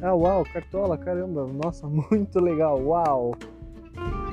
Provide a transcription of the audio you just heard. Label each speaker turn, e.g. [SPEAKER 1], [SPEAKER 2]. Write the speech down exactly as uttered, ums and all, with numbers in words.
[SPEAKER 1] Ah, uau, Cartola, caramba, nossa, muito legal, uau.